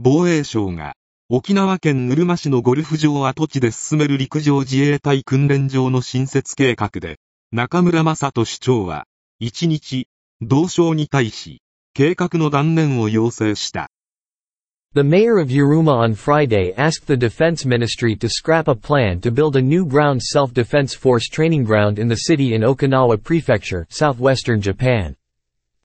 防衛省が、沖縄県うるま市のゴルフ場跡地で進める陸上自衛隊訓練場の新設計画で、中村正人市長は、1日、同省に対し、計画の断念を要請した。 The mayor of Yuruma on Friday asked the defense ministry to scrap a plan to build a new ground self-defense force training ground in the city in Okinawa Prefecture, southwestern Japan.